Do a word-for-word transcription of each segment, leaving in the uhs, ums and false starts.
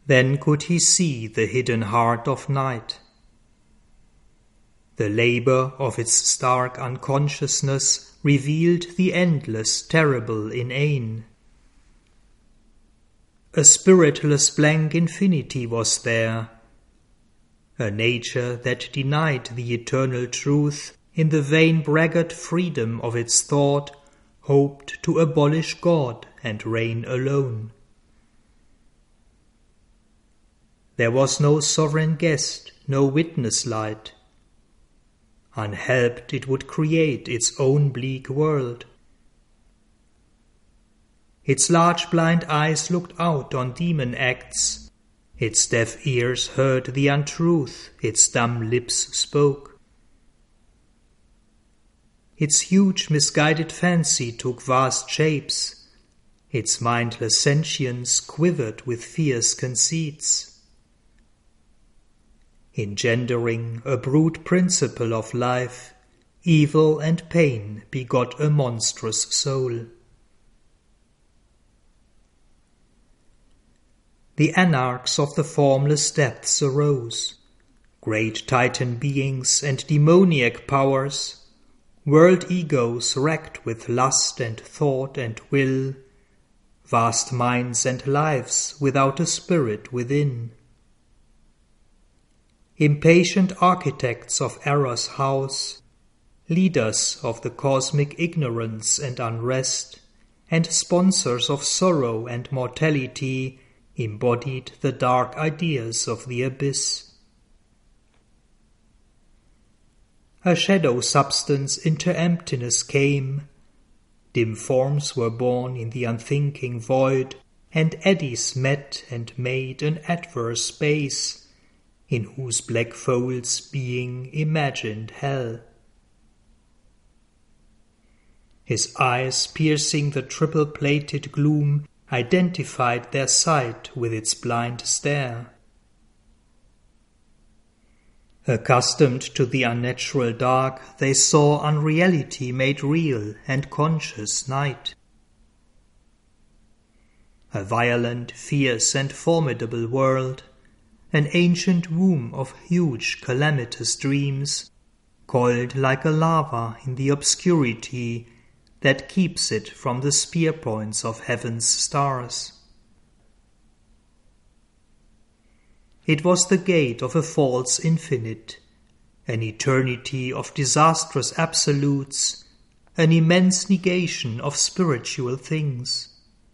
Then could he see the hidden heart of night. The labor of its stark unconsciousness revealed the endless, terrible inane. A spiritless blank infinity was there, a nature that denied the eternal truth in the vain braggart freedom of its thought, hoped to abolish God and reign alone. There was no sovereign guest, no witness light. Unhelped it would create its own bleak world. Its large blind eyes looked out on demon acts, its deaf ears heard the untruth its dumb lips spoke. Its huge misguided fancy took vast shapes, its mindless sentience quivered with fierce conceits. Engendering a brute principle of life, evil and pain begot a monstrous soul. The anarchs of the formless depths arose, great titan beings and demoniac powers, world egos racked with lust and thought and will, vast minds and lives without a spirit within. Impatient architects of error's house, leaders of the cosmic ignorance and unrest, and sponsors of sorrow and mortality, embodied the dark ideas of the abyss. A shadow substance into emptiness came, dim forms were born in the unthinking void, and eddies met and made an adverse space, in whose black folds being imagined hell. His eyes, piercing the triple-plated gloom, identified their sight with its blind stare. Accustomed to the unnatural dark, they saw unreality made real and conscious night. A violent, fierce, and formidable world, an ancient womb of huge calamitous dreams, coiled like a lava in the obscurity that keeps it from the spear points of heaven's stars. It was the gate of a false infinite, an eternity of disastrous absolutes, an immense negation of spiritual things.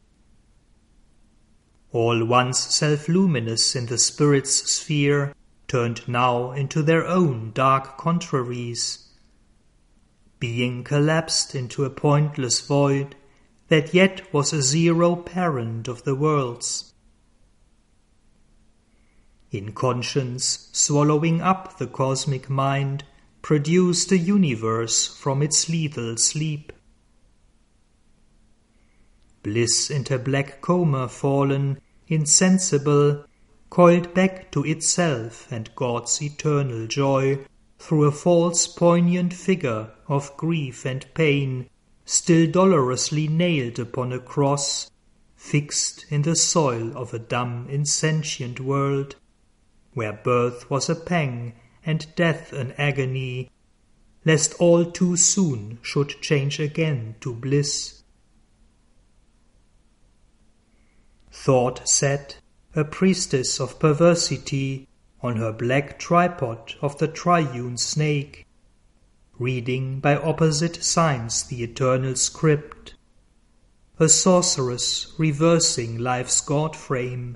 All once self-luminous in the spirit's sphere turned now into their own dark contraries, being collapsed into a pointless void that yet was a zero parent of the worlds. In conscience, swallowing up the cosmic mind, produced a universe from its lethal sleep. Bliss into black coma fallen, insensible, coiled back to itself and God's eternal joy through a false poignant figure of grief and pain, still dolorously nailed upon a cross, fixed in the soil of a dumb insentient world, where birth was a pang and death an agony, lest all too soon should change again to bliss. Thought sat, a priestess of perversity, on her black tripod of the triune snake, reading by opposite signs the eternal script, a sorceress reversing life's God-frame.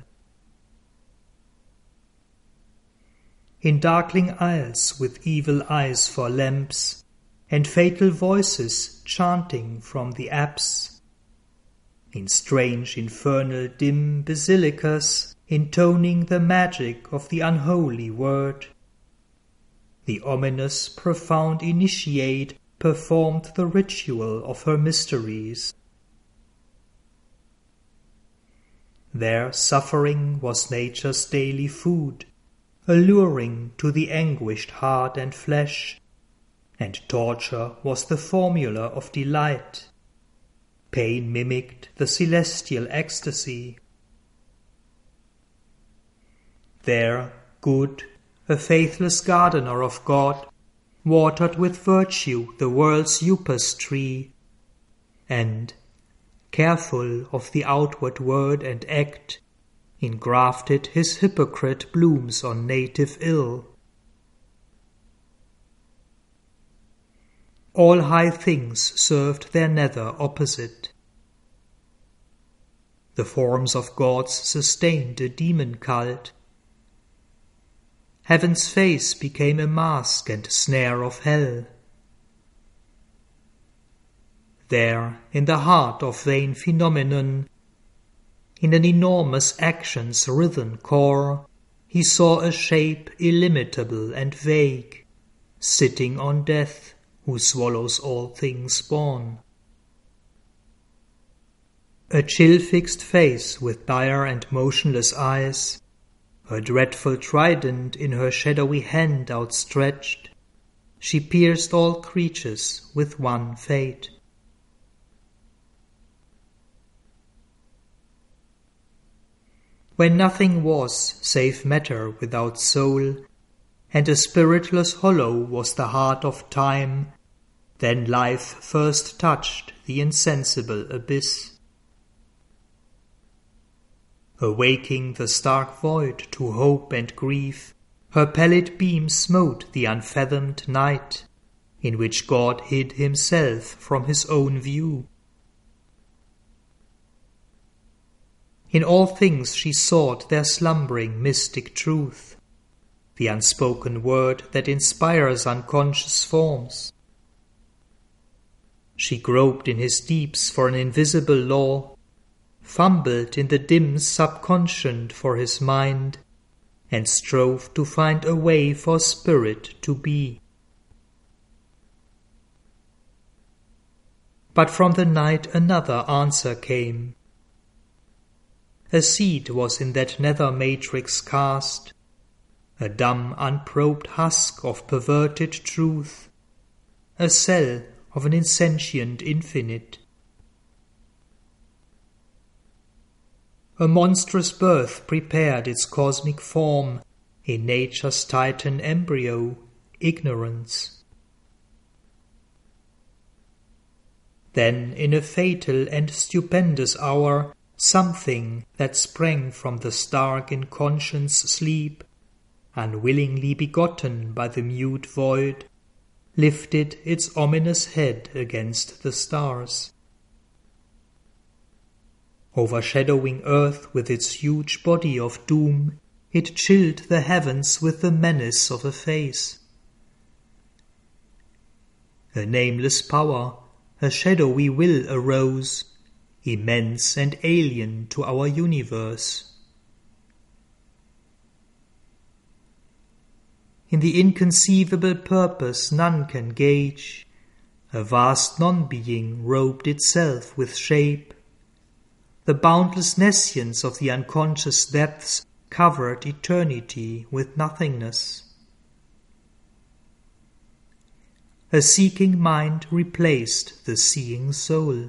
In darkling aisles with evil eyes for lamps, and fatal voices chanting from the apse, in strange infernal dim basilicas intoning the magic of the unholy word, the ominous profound initiate performed the ritual of her mysteries. There suffering was nature's daily food, alluring to the anguished heart and flesh, and torture was the formula of delight. Pain mimicked the celestial ecstasy. There, good, a faithless gardener of God, watered with virtue the world's upas tree, and, careful of the outward word and act, engrafted his hypocrite blooms on native ill. All high things served their nether opposite. The forms of gods sustained a demon cult. Heaven's face became a mask and snare of hell. There, in the heart of vain phenomenon, in an enormous action's writhen core, he saw a shape illimitable and vague, sitting on death, who swallows all things born. A chill-fixed face with dire and motionless eyes, her dreadful trident in her shadowy hand outstretched, she pierced all creatures with one fate. When nothing was save matter without soul, and a spiritless hollow was the heart of time, then life first touched the insensible abyss. Awaking the stark void to hope and grief, her pallid beam smote the unfathomed night, in which God hid himself from his own view. In all things she sought their slumbering mystic truth, the unspoken word that inspires unconscious forms. She groped in his deeps for an invisible law, fumbled in the dim subconscient for his mind, and strove to find a way for spirit to be. But from the night another answer came. A seed was in that nether matrix cast, a dumb unprobed husk of perverted truth, a cell of an insentient infinite. A monstrous birth prepared its cosmic form in nature's titan embryo, ignorance. Then in a fatal and stupendous hour, something that sprang from the stark inconscious sleep, unwillingly begotten by the mute void, lifted its ominous head against the stars. Overshadowing earth with its huge body of doom, it chilled the heavens with the menace of a face. A nameless power, a shadowy will arose, immense and alien to our universe. In the inconceivable purpose none can gauge, a vast non-being robed itself with shape. The boundless nescience of the unconscious depths covered eternity with nothingness. A seeking mind replaced the seeing soul.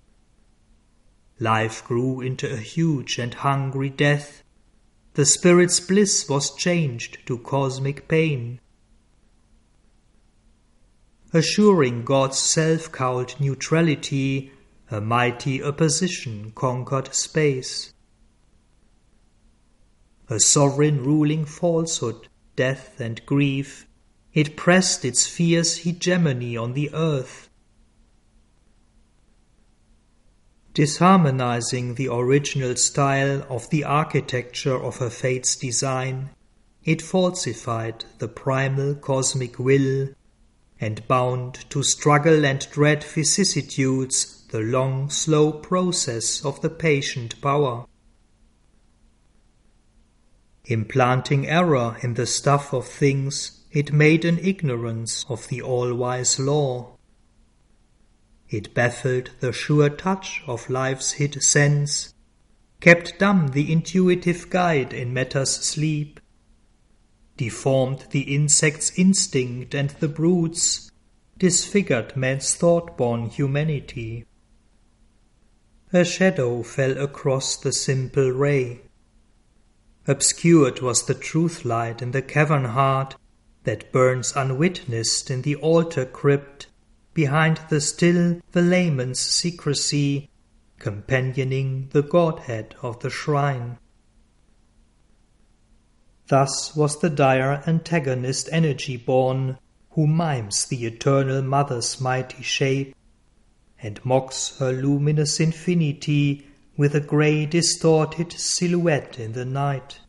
Life grew into a huge and hungry death. The spirit's bliss was changed to cosmic pain. Assuring God's self-cowled neutrality, a mighty opposition conquered space. A sovereign ruling falsehood, death and grief, it pressed its fierce hegemony on the earth. Disharmonizing the original style of the architecture of her fate's design, it falsified the primal cosmic will, and bound to struggle and dread vicissitudes the long, slow process of the patient power. Implanting error in the stuff of things, it made an ignorance of the all-wise law. It baffled the sure touch of life's hid sense, kept dumb the intuitive guide in matter's sleep, deformed the insect's instinct and the brute's, disfigured man's thought-born humanity. A shadow fell across the simple ray. Obscured was the truth light in the cavern heart that burns unwitnessed in the altar crypt, behind the still velament's secrecy, companioning the Godhead of the shrine. Thus was the dire antagonist energy born, who mimes the eternal mother's mighty shape, and mocks her luminous infinity with a grey distorted silhouette in the night.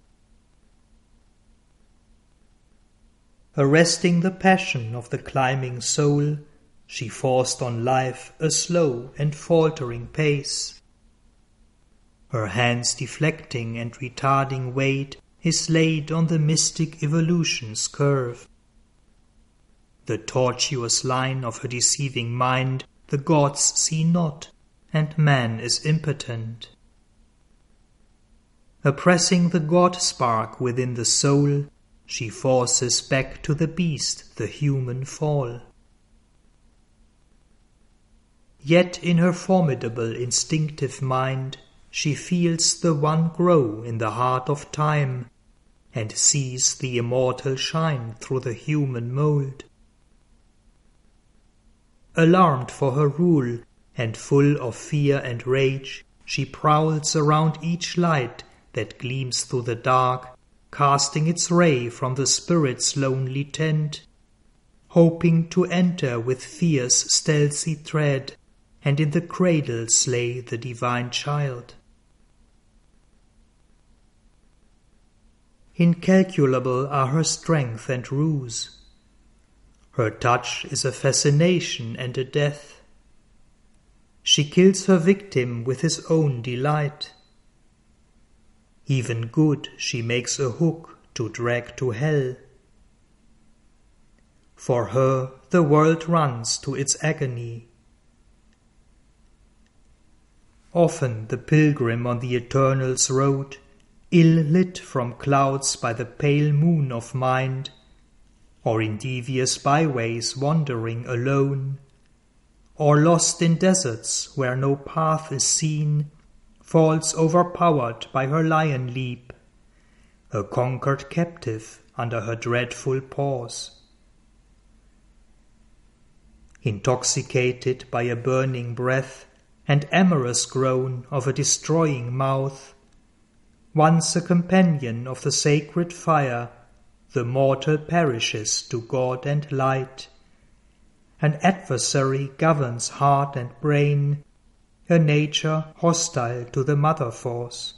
Arresting the passion of the climbing soul, she forced on life a slow and faltering pace. Her hands deflecting and retarding weight is laid on the mystic evolution's curve. The tortuous line of her deceiving mind the gods see not, and man is impotent. Oppressing the God spark within the soul, she forces back to the beast the human fall. Yet in her formidable instinctive mind she feels the one grow in the heart of time, and sees the immortal shine through the human mould. Alarmed for her rule, and full of fear and rage, she prowls around each light that gleams through the dark, casting its ray from the spirit's lonely tent, hoping to enter with fierce stealthy tread, and in the cradle slay the divine child. Incalculable are her strength and ruse. Her touch is a fascination and a death. She kills her victim with his own delight. Even good she makes a hook to drag to hell. For her the world runs to its agony. Often the pilgrim on the Eternal's road, ill-lit from clouds by the pale moon of mind, or in devious byways wandering alone, or lost in deserts where no path is seen, falls overpowered by her lion leap, a conquered captive under her dreadful paws. Intoxicated by a burning breath and amorous groan of a destroying mouth, once a companion of the sacred fire, the mortal perishes to God and light. An adversary governs heart and brain, a nature hostile to the mother force.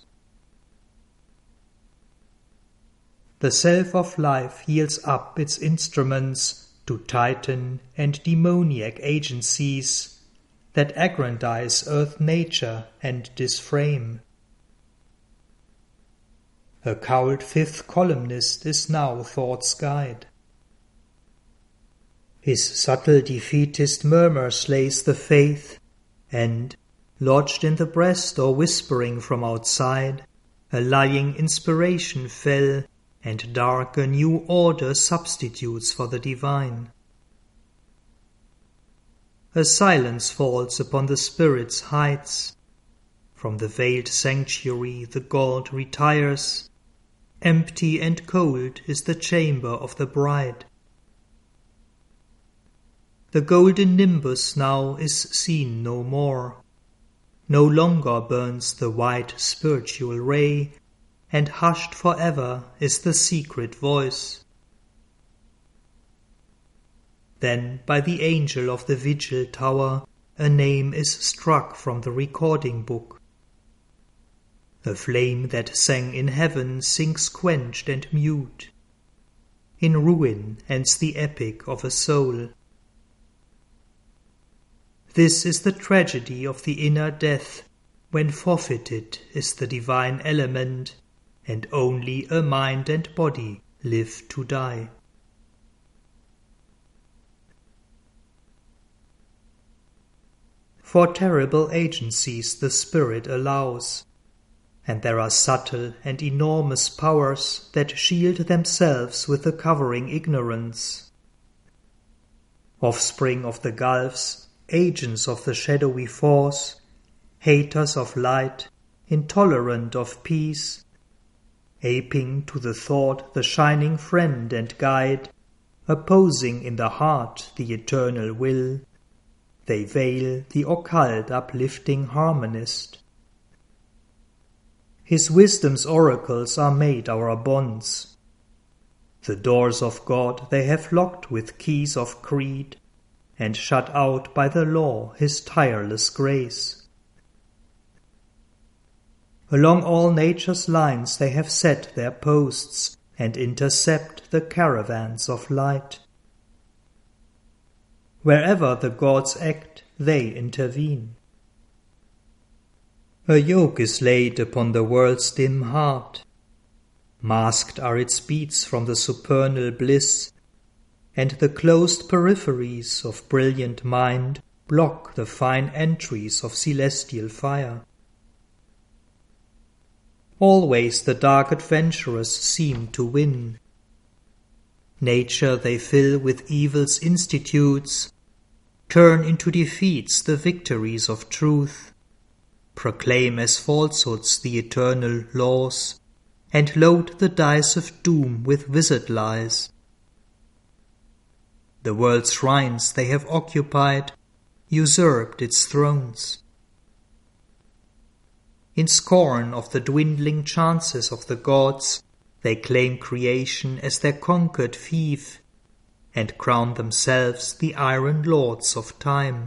The self of life yields up its instruments to titan and demoniac agencies that aggrandize earth nature and disframe. A cowled fifth columnist is now thought's guide. His subtle defeatist murmur slays the faith, and, lodged in the breast or whispering from outside, a lying inspiration fell, and dark a new order substitutes for the divine. A silence falls upon the spirit's heights. From the veiled sanctuary the god retires. Empty and cold is the chamber of the bride. The golden nimbus now is seen no more. No longer burns the white spiritual ray, and hushed forever is the secret voice. Then by the angel of the vigil tower a name is struck from the recording book. A flame that sang in heaven sinks quenched and mute. In ruin ends the epic of a soul. This is the tragedy of the inner death, when forfeited is the divine element, and only a mind and body live to die. For terrible agencies the spirit allows, and there are subtle and enormous powers that shield themselves with the covering ignorance. Offspring of the gulfs, agents of the shadowy force, haters of light, intolerant of peace, aping to the thought the shining friend and guide, opposing in the heart the eternal will, they veil the occult uplifting harmonist. His wisdom's oracles are made our bonds. The doors of God they have locked with keys of creed, and shut out by the law his tireless grace. Along all nature's lines they have set their posts, and intercept the caravans of light. Wherever the gods act, they intervene. A yoke is laid upon the world's dim heart. Masked are its beats from the supernal bliss, and the closed peripheries of brilliant mind block the fine entries of celestial fire. Always the dark adventurers seem to win. Nature they fill with evil's institutes, turn into defeats the victories of truth, proclaim as falsehoods the eternal laws, and load the dice of doom with wizard lies. The world's shrines they have occupied, usurped its thrones. In scorn of the dwindling chances of the gods, they claim creation as their conquered fief, and crown themselves the iron lords of time.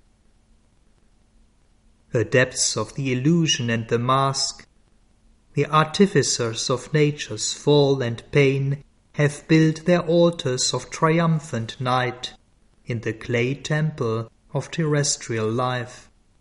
The depths of the illusion and the mask, the artificers of nature's fall and pain, have built their altars of triumphant night in the clay temple of terrestrial life.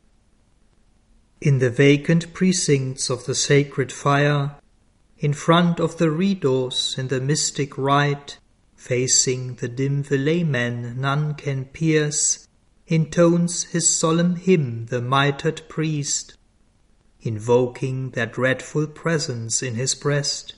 In the vacant precincts of the sacred fire, in front of the redos in the mystic rite, facing the dim velamen none can pierce, intones his solemn hymn the mitred priest, invoking their dreadful presence in his breast.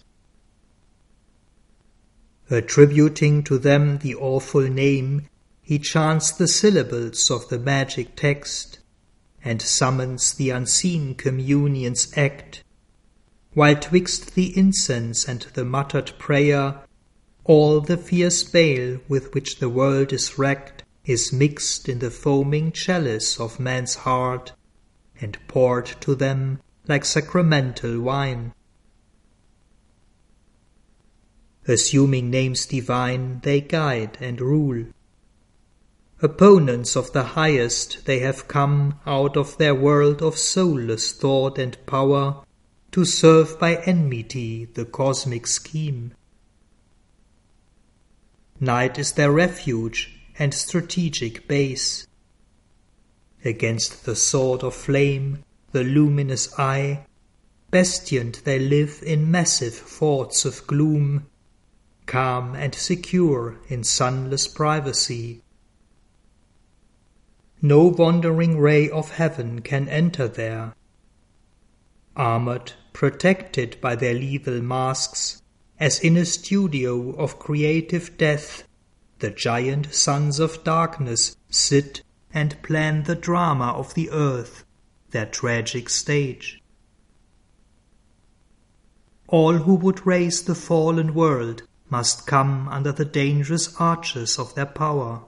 Attributing to them the awful name, he chants the syllables of the magic text, and summons the unseen communion's act, while twixt the incense and the muttered prayer, all the fierce bale with which the world is wrecked is mixed in the foaming chalice of man's heart, and poured to them like sacramental wine. Assuming names divine, they guide and rule. Opponents of the highest, they have come out of their world of soulless thought and power to serve by enmity the cosmic scheme. Night is their refuge and strategic base. Against the sword of flame, the luminous eye, bastioned they live in massive forts of gloom, calm and secure in sunless privacy. No wandering ray of heaven can enter there. Armored, protected by their lethal masks, as in a studio of creative death, the giant sons of darkness sit and plan the drama of the earth, their tragic stage. All who would raise the fallen world must come under the dangerous arches of their power.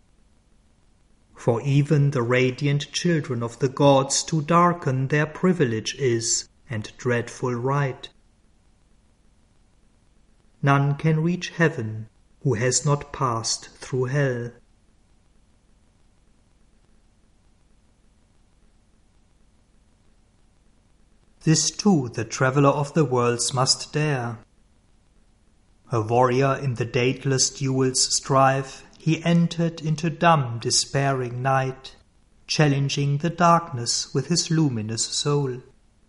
For even the radiant children of the gods to darken their privilege is, and dreadful right. None can reach heaven who has not passed through hell. This too the traveller of the worlds must dare. A warrior in the dateless duel's strife, he entered into dumb despairing night, challenging the darkness with his luminous soul.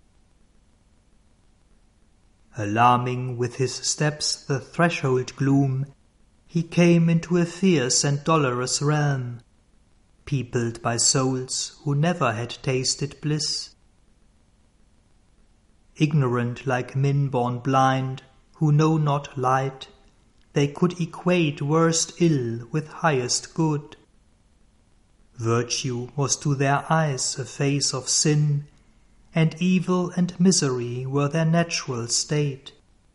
Alarming with his steps the threshold gloom, he came into a fierce and dolorous realm, peopled by souls who never had tasted bliss. Ignorant like men born blind, who know not light, they could equate worst ill with highest good. Virtue was to their eyes a face of sin, and evil and misery were their natural state.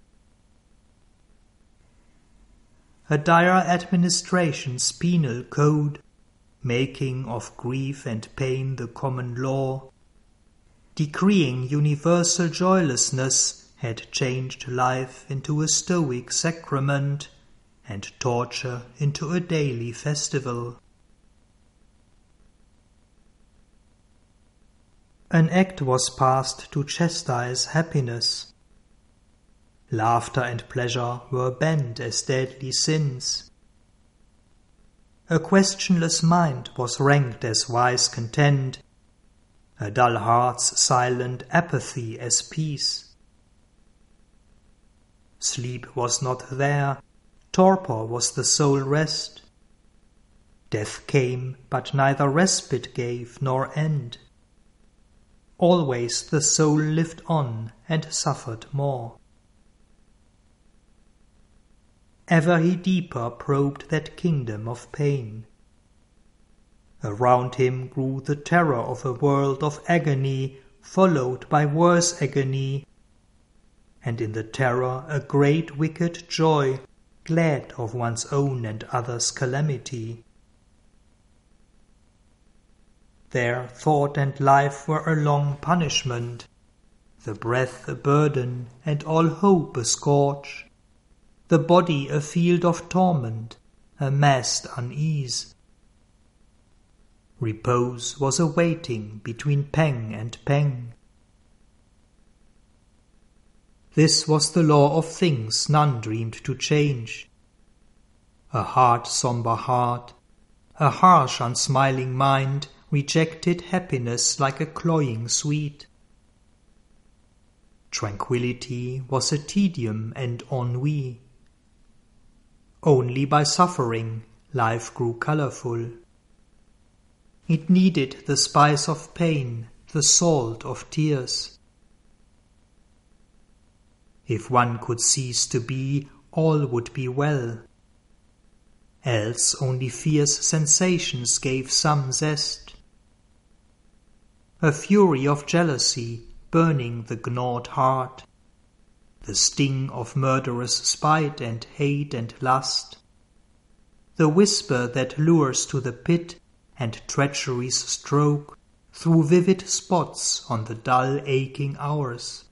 a dire administration's penal code, making of grief and pain the common law, decreeing universal joylessness, had changed life into a stoic sacrament, and torture into a daily festival. An act was passed to chastise happiness. Laughter and pleasure were banned as deadly sins. A questionless mind was ranked as wise content, a dull heart's silent apathy as peace. Sleep was not there, torpor was the sole rest. Death came, but neither respite gave nor end. Always the soul lived on and suffered more. Ever he deeper probed that kingdom of pain. Around him grew the terror of a world of agony, followed by worse agony, and in the terror a great wicked joy, glad of one's own and others' calamity. There thought and life were a long punishment, the breath a burden, and all hope a scourge, the body a field of torment, a massed unease. Repose was a waiting between pang and pang. This was the law of things none dreamed to change. A hard, sombre heart, a harsh, unsmiling mind rejected happiness like a cloying sweet. Tranquillity was a tedium and ennui. Only by suffering life grew colorful. It needed the spice of pain, the salt of tears. If one could cease to be, all would be well. Else only fierce sensations gave some zest. A fury of jealousy burning the gnawed heart, the sting of murderous spite and hate and lust, the whisper that lures to the pit and treachery's stroke through vivid spots on the dull aching hours.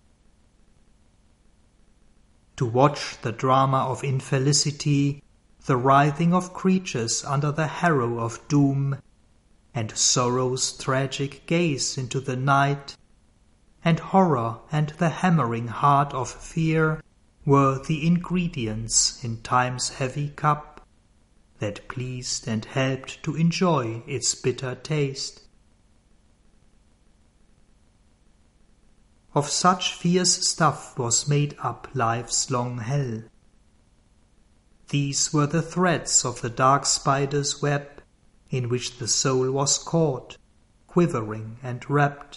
To watch the drama of infelicity, the writhing of creatures under the harrow of doom, and sorrow's tragic gaze into the night, and horror and the hammering heart of fear were the ingredients in time's heavy cup that pleased and helped to enjoy its bitter taste. Of such fierce stuff was made up life's long hell. These were the threads of the dark spider's web, in which the soul was caught, quivering and wrapped.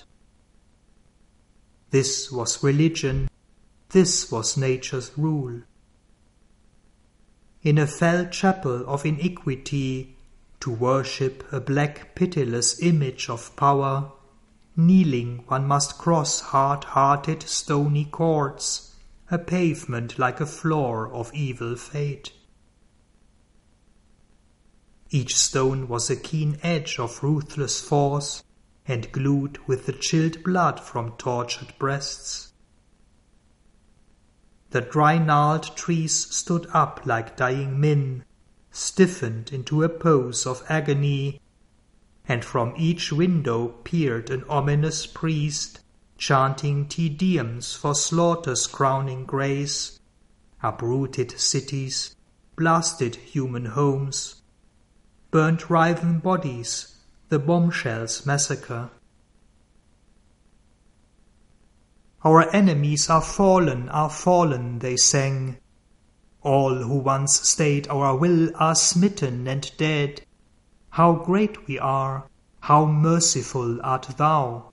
This was religion, this was nature's rule. In a fell chapel of iniquity, to worship a black pitiless image of power, kneeling one must cross hard-hearted stony courts, a pavement like a floor of evil fate. Each stone was a keen edge of ruthless force, and glued with the chilled blood from tortured breasts. The dry gnarled trees stood up like dying men, stiffened into a pose of agony, and from each window peered an ominous priest, chanting Te Deums for slaughter's crowning grace, uprooted cities, blasted human homes, burnt writhen bodies, the bombshells massacre. Our enemies are fallen, are fallen, they sang. All who once stayed our will are smitten and dead. How great we are, how merciful art thou.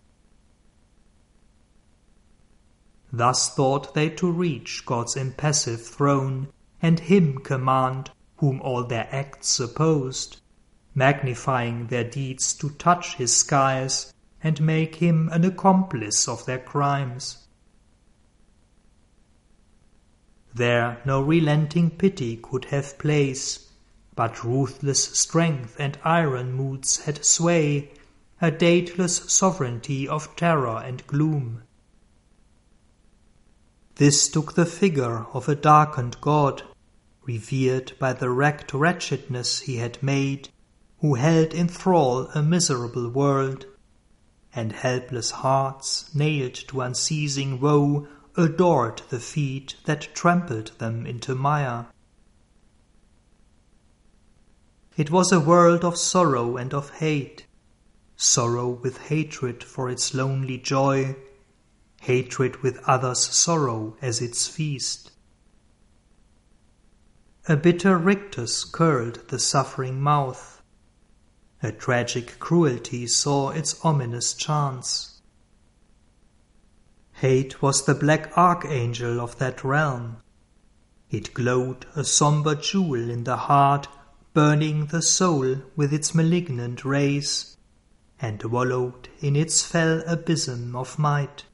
Thus thought they to reach God's impassive throne, and him command whom all their acts opposed, magnifying their deeds to touch his skies and make him an accomplice of their crimes. There no relenting pity could have place, but ruthless strength and iron moods had sway, a dateless sovereignty of terror and gloom. This took the figure of a darkened god, revered by the wrecked wretchedness he had made, who held in thrall a miserable world, and helpless hearts, nailed to unceasing woe, adored the feet that trampled them into mire. It was a world of sorrow and of hate, sorrow with hatred for its lonely joy, hatred with others' sorrow as its feast. A bitter rictus curled the suffering mouth. A tragic cruelty saw its ominous chance. Hate was the black archangel of that realm. It glowed a sombre jewel in the heart, burning the soul with its malignant rays, and wallowed in its fell abysm of might.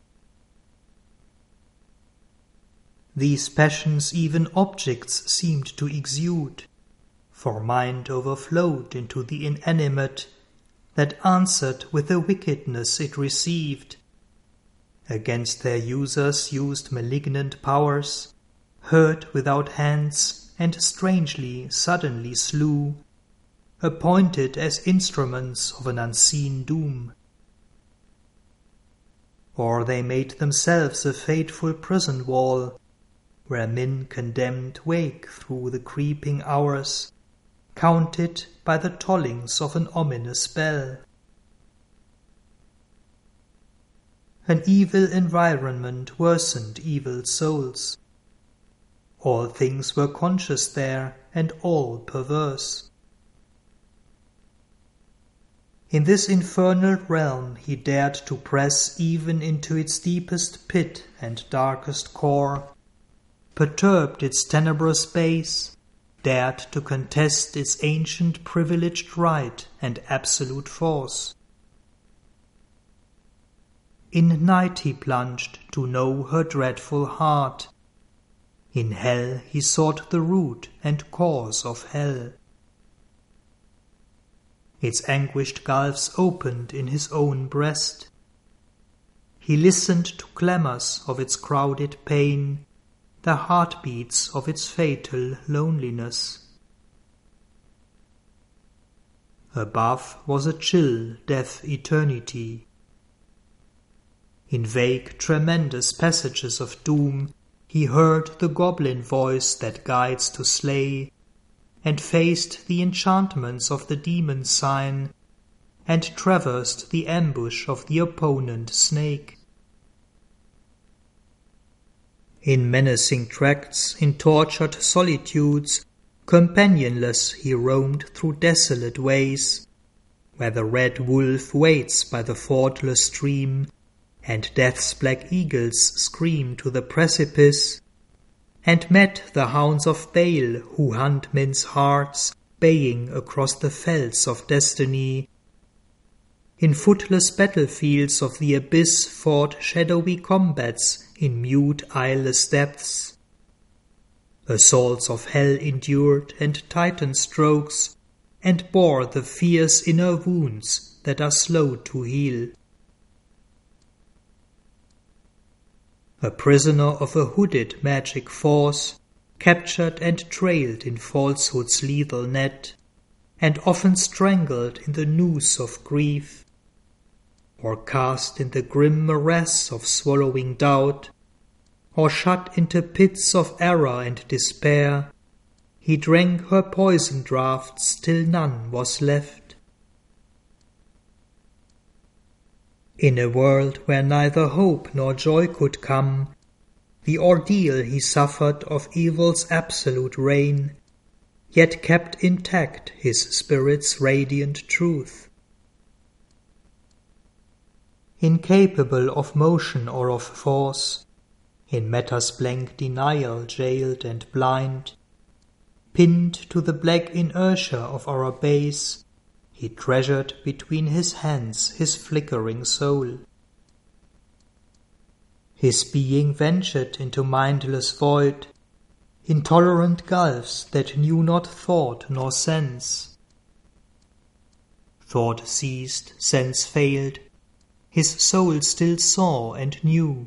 These passions even objects seemed to exude, for mind overflowed into the inanimate, that answered with the wickedness it received. Against their users used malignant powers, hurt without hands, and strangely, suddenly slew, appointed as instruments of an unseen doom. Or they made themselves a fateful prison wall, where men condemned wake through the creeping hours, counted by the tollings of an ominous bell. An evil environment worsened evil souls. All things were conscious there, and all perverse. In this infernal realm he dared to press even into its deepest pit and darkest core, perturbed its tenebrous base, dared to contest its ancient privileged right and absolute force. In night he plunged to know her dreadful heart. In hell he sought the root and cause of hell. Its anguished gulfs opened in his own breast. He listened to clamours of its crowded pain, the heartbeats of its fatal loneliness. Above was a chill, deaf eternity. In vague, tremendous passages of doom he heard the goblin voice that guides to slay, and faced the enchantments of the demon sign, and traversed the ambush of the opponent snake. In menacing tracts, in tortured solitudes, companionless he roamed through desolate ways, where the red wolf waits by the fordless stream, and death's black eagles scream to the precipice, and met the hounds of Baal who hunt men's hearts, baying across the fells of destiny. In footless battlefields of the abyss fought shadowy combats in mute eyeless depths. Assaults of hell endured and titan strokes, and bore the fierce inner wounds that are slow to heal. A prisoner of a hooded magic force, captured and trailed in falsehood's lethal net, and often strangled in the noose of grief, or cast in the grim morass of swallowing doubt, or shut into pits of error and despair, he drank her poison draughts till none was left. In a world where neither hope nor joy could come, the ordeal he suffered of evil's absolute reign, yet kept intact his spirit's radiant truth. Incapable of motion or of force, in matter's blank denial jailed and blind, pinned to the black inertia of our base, he treasured between his hands his flickering soul. His being ventured into mindless void, intolerant gulfs that knew not thought nor sense. Thought ceased, sense failed, his soul still saw and knew.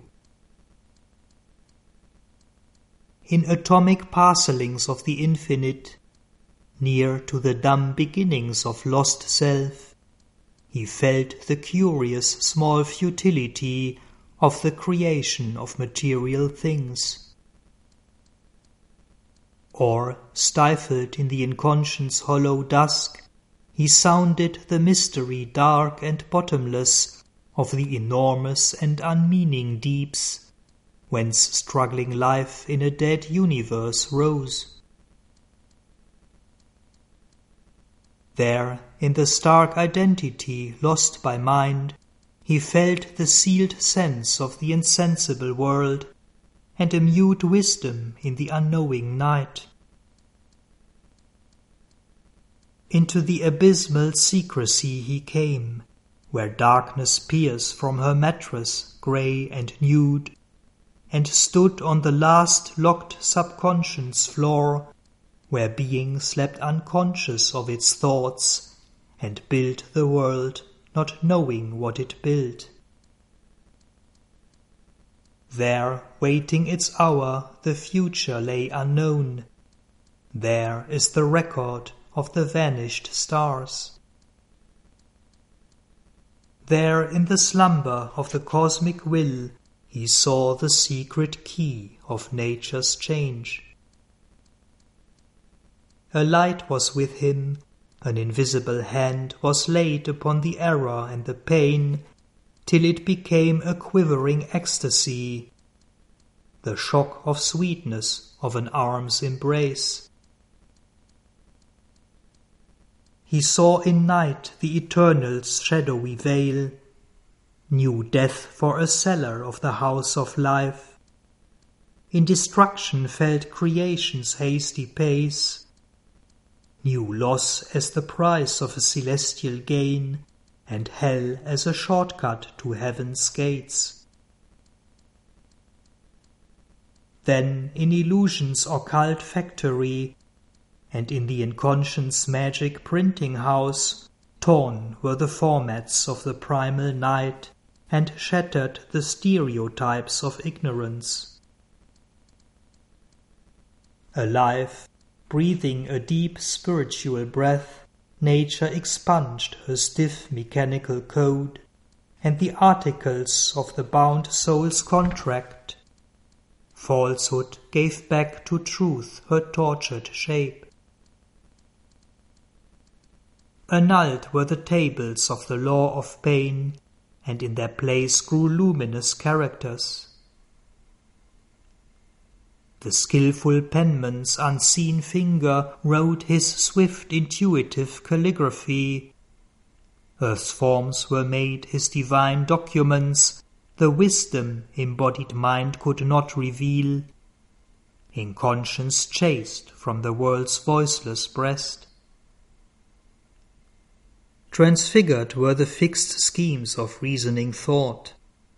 In atomic parcellings of the infinite, near to the dumb beginnings of lost self, he felt the curious small futility of the creation of material things. Or, stifled in the inconscient's hollow dusk, he sounded the mystery dark and bottomless of the enormous and unmeaning deeps, whence struggling life in a dead universe rose. There, in the stark identity lost by mind, he felt the sealed sense of the insensible world, and a mute wisdom in the unknowing night. Into the abysmal secrecy he came, where darkness peers from her mattress grey and nude, and stood on the last locked subconscious floor, where being slept unconscious of its thoughts, and built the world, not knowing what it built. There, waiting its hour, the future lay unknown. There is the record of the vanished stars. There, in the slumber of the cosmic will, he saw the secret key of nature's change. A light was with him, an invisible hand was laid upon the error and the pain, till it became a quivering ecstasy, the shock of sweetness of an arm's embrace. He saw in night the eternal's shadowy veil, knew death for a cellar of the house of life, in destruction felt creation's hasty pace, knew loss as the price of a celestial gain, and hell as a shortcut to heaven's gates. Then in illusion's occult factory, and in the inconscient's magic printing house, torn were the formats of the primal night, and shattered the stereotypes of ignorance. Alive, breathing a deep spiritual breath, nature expunged her stiff mechanical code, and the articles of the bound soul's contract. Falsehood gave back to truth her tortured shape. Annulled were the tables of the law of pain, and in their place grew luminous characters. The skilful penman's unseen finger wrote his swift intuitive calligraphy. Earth's forms were made his divine documents, the wisdom embodied mind could not reveal, in conscience chased from the world's voiceless breast. Transfigured were the fixed schemes of reasoning thought.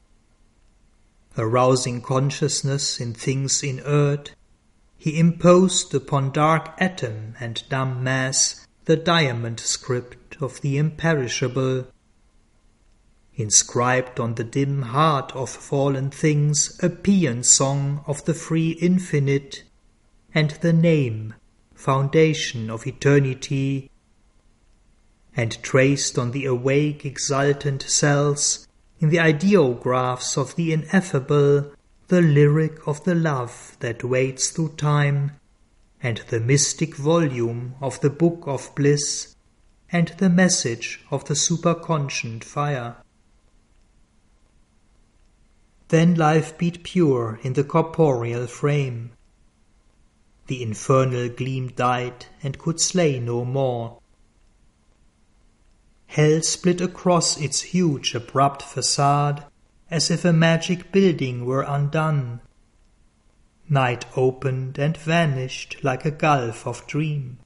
Arousing consciousness in things inert, he imposed upon dark atom and dumb mass the diamond script of the imperishable. Inscribed on the dim heart of fallen things a paean song of the free infinite, and the name, foundation of eternity, and traced on the awake exultant cells, in the ideographs of the ineffable, the lyric of the love that waits through time, and the mystic volume of the book of bliss, and the message of the superconscient fire. Then life beat pure in the corporeal frame. The infernal gleam died and could slay no more. Hell split across its huge abrupt facade, as if a magic building were undone. Night opened and vanished like a gulf of dream.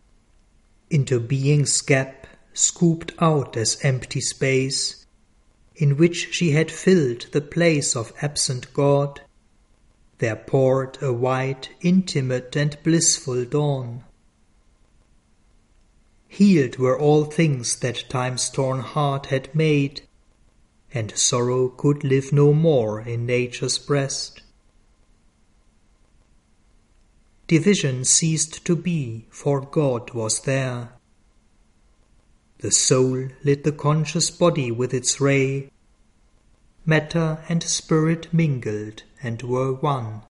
Into being's gap, scooped out as empty space, in which she had filled the place of absent God, there poured a white, intimate and blissful dawn. Healed were all things that time's torn heart had made, and sorrow could live no more in nature's breast. Division ceased to be, for God was there. The soul lit the conscious body with its ray. Matter and spirit mingled and were one.